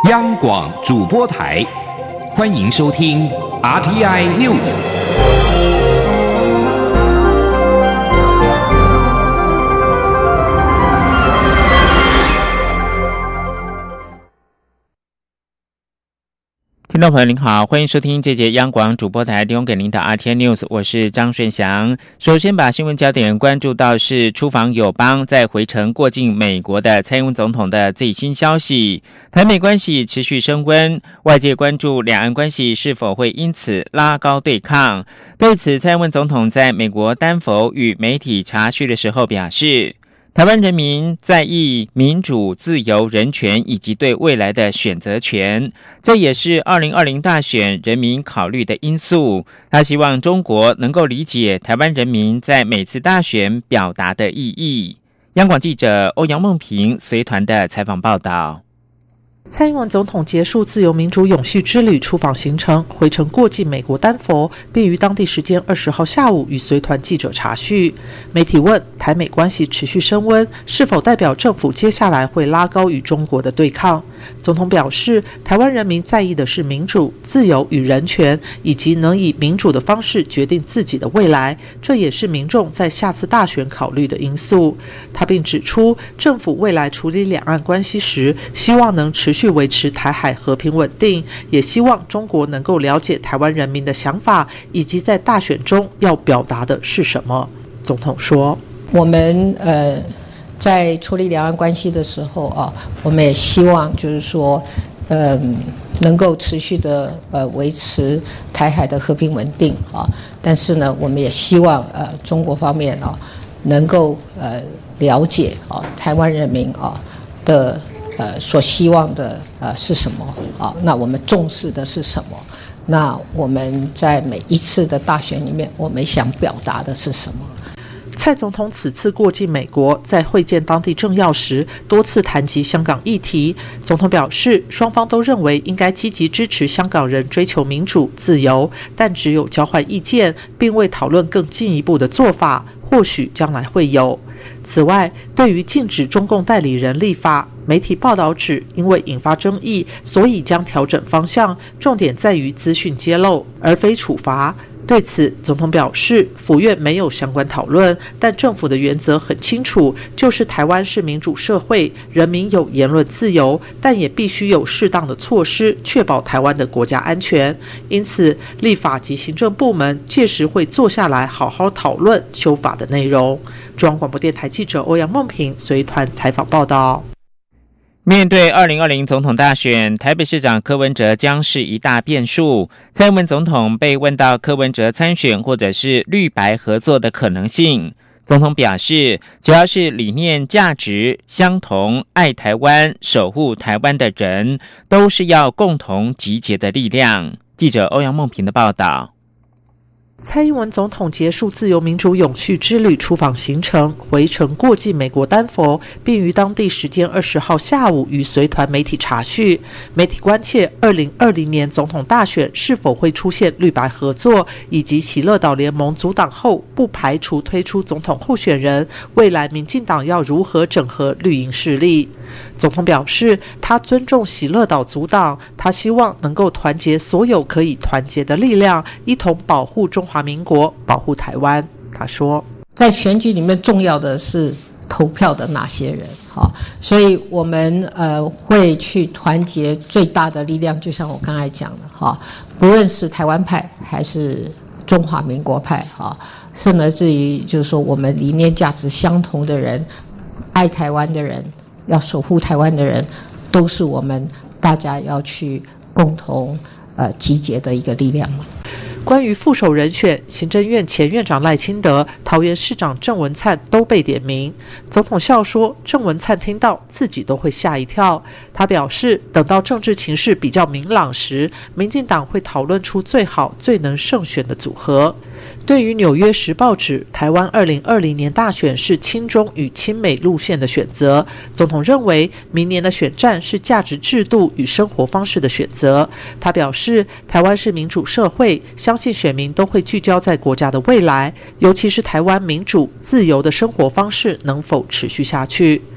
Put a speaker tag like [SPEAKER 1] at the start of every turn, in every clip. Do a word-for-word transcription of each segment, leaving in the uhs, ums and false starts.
[SPEAKER 1] 央广主播台，欢迎收听 R T I News。
[SPEAKER 2] 听众朋友您好，欢迎收听这节央广主播台提供给您的 R T I News， 我是张顺祥。首先把新闻焦点关注到是出访友邦在回程过境美国的蔡英文总统的最新消息。台美关系持续升温，外界关注两岸关系是否会因此拉高对抗。对此，蔡英文总统在美国丹佛与媒体茶叙的时候表示，台湾人民在意民主、自由、人权以及对未来的选择权，这也是二零二零大选人民考虑的因素。他希望中国能够理解台湾人民在每次大选表达的意义。央广记者欧阳梦平随团的采访报道。
[SPEAKER 3] 蔡英文总统结束自由民主永续之旅出访行程，回程过境美国丹佛，并于当地时间二十号下午与随团记者茶叙。媒体问台美关系持续升温，是否代表政府接下来会拉高与中国的对抗？总统表示，台湾人民在意的是民主、自由与人权，以及能以民主的方式决定自己的未来，这也是民众在下次大选考虑的因素。他并指出，政府未来处理两岸关系时，希望能持续维持台海和平稳定，也希望中国能够了解台湾人民的想法，以及在大选中要表达的是什么。总统说，
[SPEAKER 4] 我们呃在处理两岸关系的时候啊，我们也希望就是说，嗯、呃，能够持续的呃维持台海的和平稳定啊。但是呢，我们也希望呃中国方面啊能够呃了解啊台湾人民啊的呃所希望的呃是什么啊？那我们重视的是什么？那我们在每一次的大选里面，我们想表达的是什么？
[SPEAKER 3] 蔡总统此次过境美国，在会见当地政要时，多次谈及香港议题。总统表示，双方都认为应该积极支持香港人追求民主、自由，但只有交换意见，并未讨论更进一步的做法，或许将来会有。此外，对于禁止中共代理人立法，媒体报道指，因为引发争议，所以将调整方向，重点在于资讯揭露，而非处罚。对此，总统表示，府院没有相关讨论，但政府的原则很清楚，就是台湾是民主社会，人民有言论自由，但也必须有适当的措施，确保台湾的国家安全。因此，立法及行政部门届时会坐下来好好讨论修法的内容。中央广播电台记者欧阳梦平随团采访报道。
[SPEAKER 2] 面对二零二零总统大选，台北市长柯文哲将是一大变数。蔡英文总统被问到柯文哲参选或者是绿白合作的可能性，总统表示，只要是理念价值相同、爱台湾、守护台湾的人，都是要共同集结的力量。记者欧阳梦平的报道。
[SPEAKER 3] 蔡英文总统结束自由民主永续之旅出访行程，回程过境美国丹佛，并于当地时间二十号下午与随团媒体茶叙。媒体关切二零二零年总统大选是否会出现绿白合作，以及喜乐岛联盟组党后不排除推出总统候选人，未来民进党要如何整合绿营势力。总统表示，他尊重喜乐岛组党，他希望能够团结所有可以团结的力量，一同保护中华民国，保护台湾。他说，
[SPEAKER 4] 在选举里面重要的是投票的那些人，好，所以我们呃会去团结最大的力量，就像我刚才讲的，哈，不论是台湾派还是中华民国派，哈，甚至于就是说我们理念价值相同的人，爱台湾的人，要守护台湾的人，都是我们大家要去共同呃集结的一个力量。
[SPEAKER 3] 关于副手人选，行政院前院长赖清德、桃园市长郑文灿都被点名。总统笑说，郑文灿听到自己都会吓一跳。他表示，等到政治情势比较明朗时，民进党会讨论出最好、最能胜选的组合。对于《纽约时报》指台湾二零二零年大选是亲中与亲美路线的选择，总统认为明年的选战是价值制度与生活方式的选择。他表示，台湾是民主社会，相信选民都会聚焦在国家的未来，尤其是台湾民主自由的生活方式能否持续下去。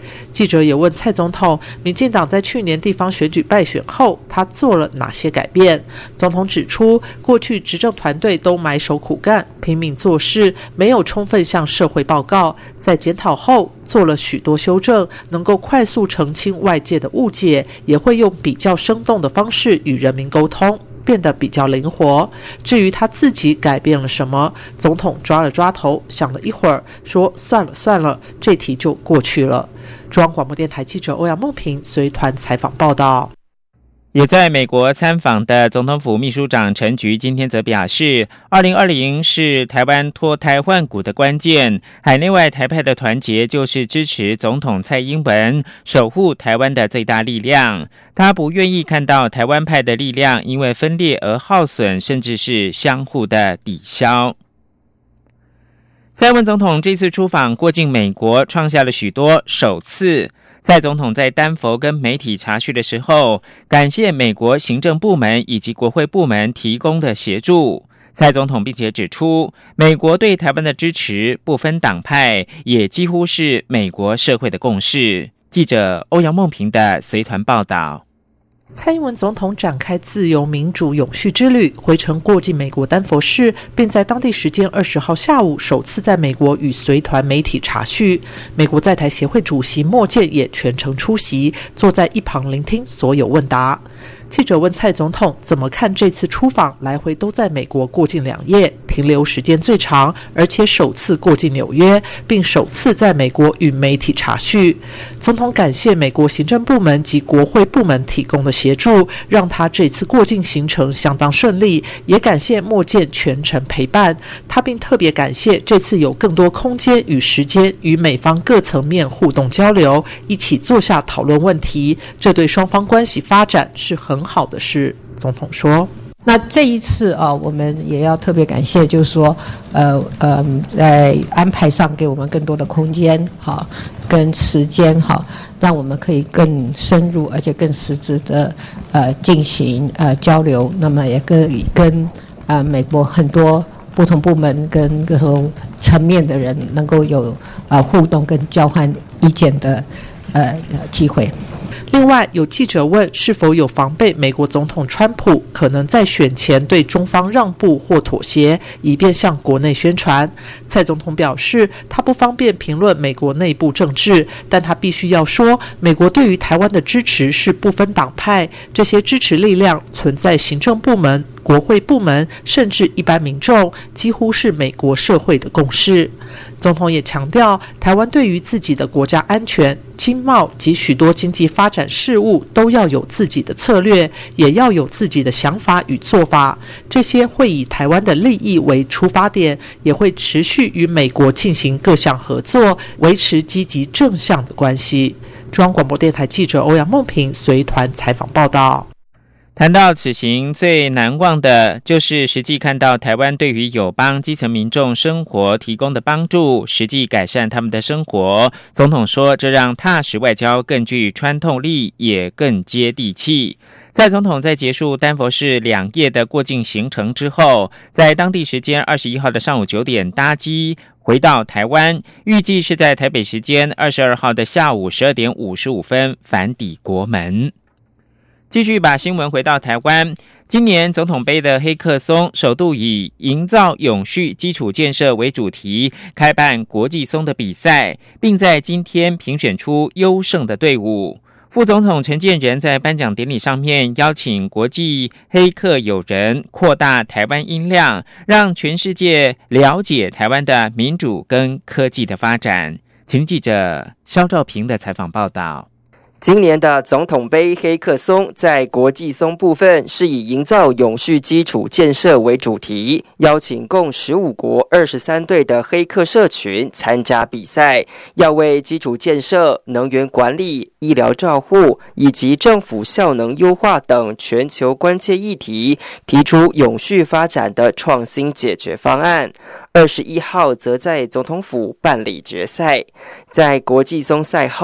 [SPEAKER 3] 记者也问蔡总统，民进党在去年地方选举败选后，他做了哪些改变？总统指出，过去执政团队都埋首苦干，拼命做事，没有充分向社会报告，在检讨后做了许多修正，能够快速澄清外界的误解，也会用比较生动的方式与人民沟通，变得比较灵活。至于他自己改变了什么，总统抓了抓头，想了一会儿，说算了算了，这题就过去了。中央广播电台记者欧阳梦平随团采访报道。
[SPEAKER 2] 也在美国参访的总统府秘书长陈菊今天则表示，二零二零是台湾脱胎换骨的关键，海内外台派的团结就是支持总统蔡英文守护台湾的最大力量。他不愿意看到台湾派的力量因为分裂而耗损，甚至是相互的抵消。蔡英文总统这次出访过境美国，创下了许多首次。蔡总统在丹佛跟媒体查询的时候，感谢美国行政部门以及国会部门提供的协助。蔡总统并且指出，美国对台湾的支持不分党派，也几乎是美国社会的共识。记者欧阳梦平的随团报道。
[SPEAKER 3] 蔡英文总统展开自由民主永续之旅，回程过境美国丹佛市，并在当地时间二十号下午首次在美国与随团媒体查叙。美国在台协会主席莫健也全程出席，坐在一旁聆听所有问答。记者问蔡总统怎么看这次出访，来回都在美国过境两夜，停留时间最长，而且首次过境纽约，并首次在美国与媒体查叙。总统感谢美国行政部门及国会部门提供的协助，让他这次过境行程相当顺利，也感谢莫健全程陪伴他，并特别感谢这次有更多空间与时间与美方各层面互动交流，一起坐下讨论问题，这对双方关系发展是很很好的事。总统说，
[SPEAKER 4] 那这一次啊，我们也要特别感谢，就是说，呃呃，在安排上给我们更多的空间，哈，跟时间，哈，让我们可以更深入而且更实质的呃进行呃交流。那么也跟跟呃美国很多不同部门跟各种层面的人能够有呃互动跟交换意见的呃机会。
[SPEAKER 3] 另外，有记者问是否有防备美国总统川普可能在选前对中方让步或妥协，以便向国内宣传。蔡总统表示，他不方便评论美国内部政治，但他必须要说，美国对于台湾的支持是不分党派，这些支持力量存在行政部门、国会部门，甚至一般民众，几乎是美国社会的共识。总统也强调，台湾对于自己的国家安全、经贸及许多经济发展事务都要有自己的策略，也要有自己的想法与做法。这些会以台湾的利益为出发点，也会持续与美国进行各项合作，维持积极正向的关系。中央广播电台记者欧阳梦平随团采访报道。
[SPEAKER 2] 谈到此行最难忘的就是实际看到台湾对于友邦基层民众生活提供的帮助，实际改善他们的生活。总统说，这让踏实外交更具穿透力，也更接地气。蔡总统在结束丹佛市两夜的过境行程之后，在当地时间二十一号的上午九点搭机回到台湾，预计是在台北时间二十二号的下午十二点五十五分返抵国门。继续把新闻回到台湾，今年总统杯的黑客松首度以营造永续基础建设为主题开办国际松的比赛，并在今天评选出优胜的队伍。副总统陈建仁在颁奖典礼上面邀请国际黑客友人扩大台湾音量，让全世界了解台湾的民主跟科技的发展。请记者肖兆平的采访报道。
[SPEAKER 5] 今年的总统杯黑客松在国际松部分是以营造永续基础建设为主题，邀请共十五国二十三队的黑客社群参加比赛，要为基础建设、能源管理、医疗照护以及政府效能优化等全球关切议题提出永续发展的创新解决方案。二十一号则在总统府办理决赛。在国际松赛后，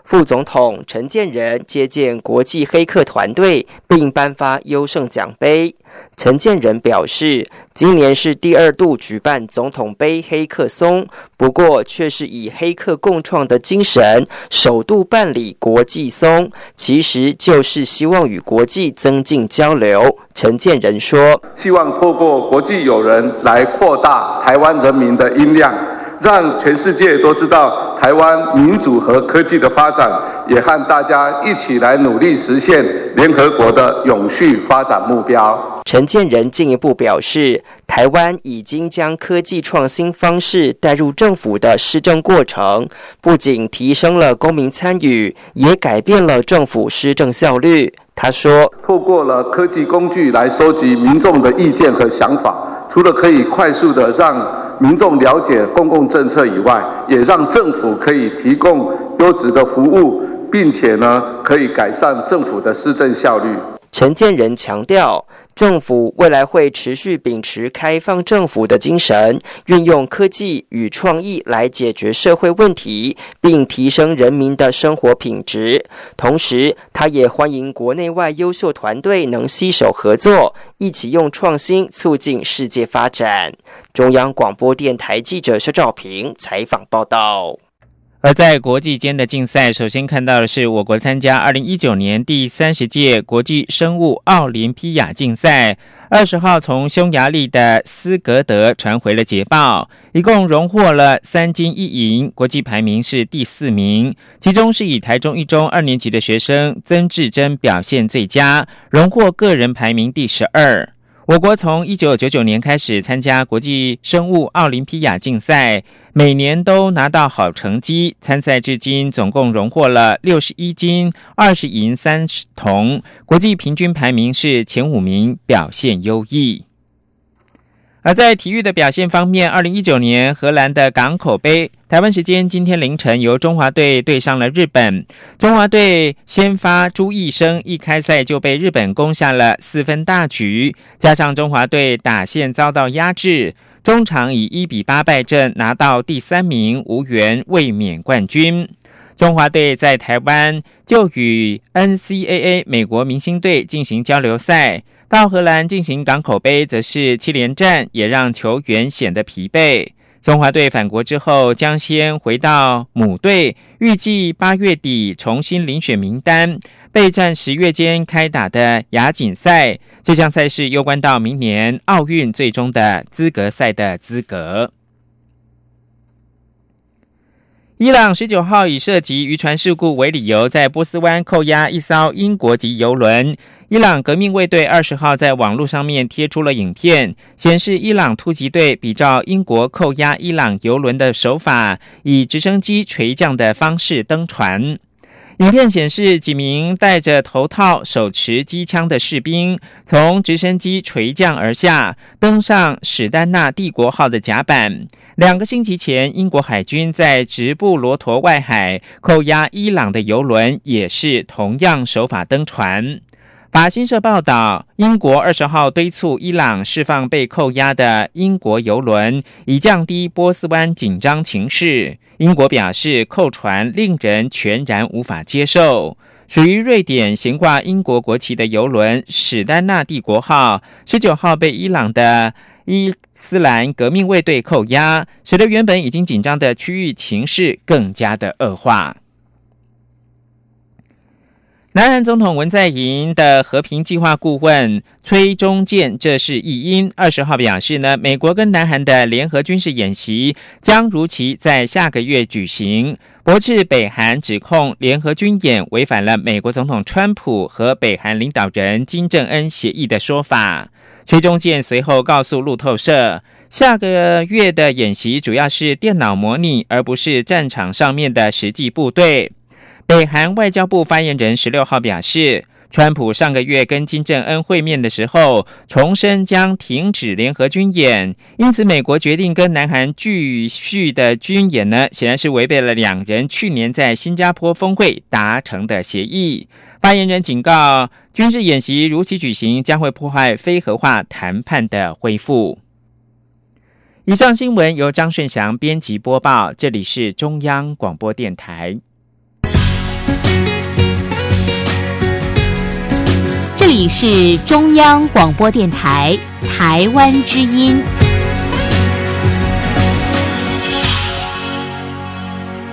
[SPEAKER 5] 副总统陈建仁接见国际黑客团队，并颁发优胜奖杯。陈建仁表示，今年是第二度举办总统杯黑客松，不过却是以黑客共创的精神首度办理国际松，其实就是希望与国际增进交流。陈建仁说，
[SPEAKER 6] 希望透过国际友人来扩大台湾人民的音量，让全世界都知道台湾民主和科技的发展，也和大家一起来努力实现联合国的永续发展目标。
[SPEAKER 5] 陈建仁进一步表示，台湾已经将科技创新方式带入政府的施政过程，不仅提升了公民参与，也改变了政府施政效率。他说，
[SPEAKER 6] 透过了科技工具来收集民众的意见和想法，除了可以快速的让民众了解公共政策以外，也让政府可以提供优质的服务，并且呢，可以改善政府的施政效率。
[SPEAKER 5] 陈建仁强调，政府未来会持续秉持开放政府的精神，运用科技与创意来解决社会问题，并提升人民的生活品质。同时，他也欢迎国内外优秀团队能携手合作，一起用创新促进世界发展。中央广播电台记者施兆平采访报道。
[SPEAKER 2] 而在国际间的竞赛，首先看到的是我国参加二零一九年第三十届国际生物奥林匹亚竞赛，二十号从匈牙利的斯格德传回了捷报，一共荣获了三金一银，国际排名是第四名，其中是以台中一中二年级的学生曾志珍表现最佳，荣获个人排名第十二。我国从一九九九年开始参加国际生物奥林匹亚竞赛，每年都拿到好成绩，参赛至今总共荣获了六十一金、二十银、三铜，国际平均排名是前五名，表现优异。而在体育的表现方面，二零一九年荷兰的港口杯，台湾时间今天凌晨由中华队对上了日本。中华队先发朱义生一开赛就被日本攻下了四分大局，加上中华队打线遭到压制，中场以一比八败阵，拿到第三名，无缘卫冕冠军。中华队在台湾就与 N C A A 美国明星队进行交流赛，到荷兰进行港口杯则是七连战，也让球员显得疲惫。中华队返国之后将先回到母队，预计八月底重新遴选名单，备战十月间开打的亚锦赛。这项赛事攸关到明年奥运最终的资格赛的资格。伊朗十九号以涉及渔船事故为理由，在波斯湾扣押一艘英国籍邮轮。伊朗革命卫队二十号在网络上面贴出了影片，显示伊朗突击队比照英国扣押伊朗邮轮的手法，以直升机垂降的方式登船。影片显示几名戴着头套、手持机枪的士兵从直升机垂降而下，登上史丹纳帝国号的甲板。两个星期前，英国海军在直布罗陀外海扣押伊朗的邮轮，也是同样手法登船。法新社报道，英国二十号敦促伊朗释放被扣押的英国邮轮，以降低波斯湾紧张情势。英国表示，扣船令人全然无法接受。属于瑞典悬挂英国国旗的邮轮史丹纳帝国号，十九号被伊朗的伊斯兰革命卫队扣押，使得原本已经紧张的区域情势更加的恶化。南韩总统文在寅的和平计划顾问崔中建，这是译音，二十号表示呢，美国跟南韩的联合军事演习将如期在下个月举行，驳斥北韩指控联合军演违反了美国总统川普和北韩领导人金正恩协议的说法。崔中建随后告诉路透社，下个月的演习主要是电脑模拟，而不是战场上面的实际部队。北韩外交部发言人十六号表示，川普上个月跟金正恩会面的时候，重申将停止联合军演，因此美国决定跟南韩继续的军演呢，显然是违背了两人去年在新加坡峰会达成的协议。发言人警告，军事演习如期举行，将会破坏非核化谈判的恢复。以上新闻由张顺祥编辑播报，这里是中央广播电台。
[SPEAKER 7] 这里是中央广播电台台湾之音。